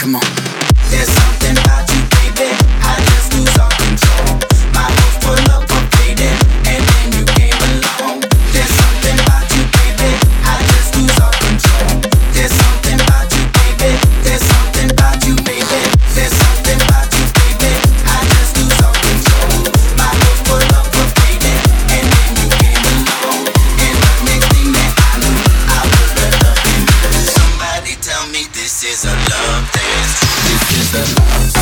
Come on. There's something about you, baby, I just lose all control. My hopes for love were fading, and then you came along. There's something about you, baby, I just lose all control. There's something about you, baby. There's something about you, baby. There's something about you, baby, I just lose all control. My hopes for love were fading, and then you came along. And the next thing that I knew, I was better than you. Somebody tell me this is a love dance. This is a love dance.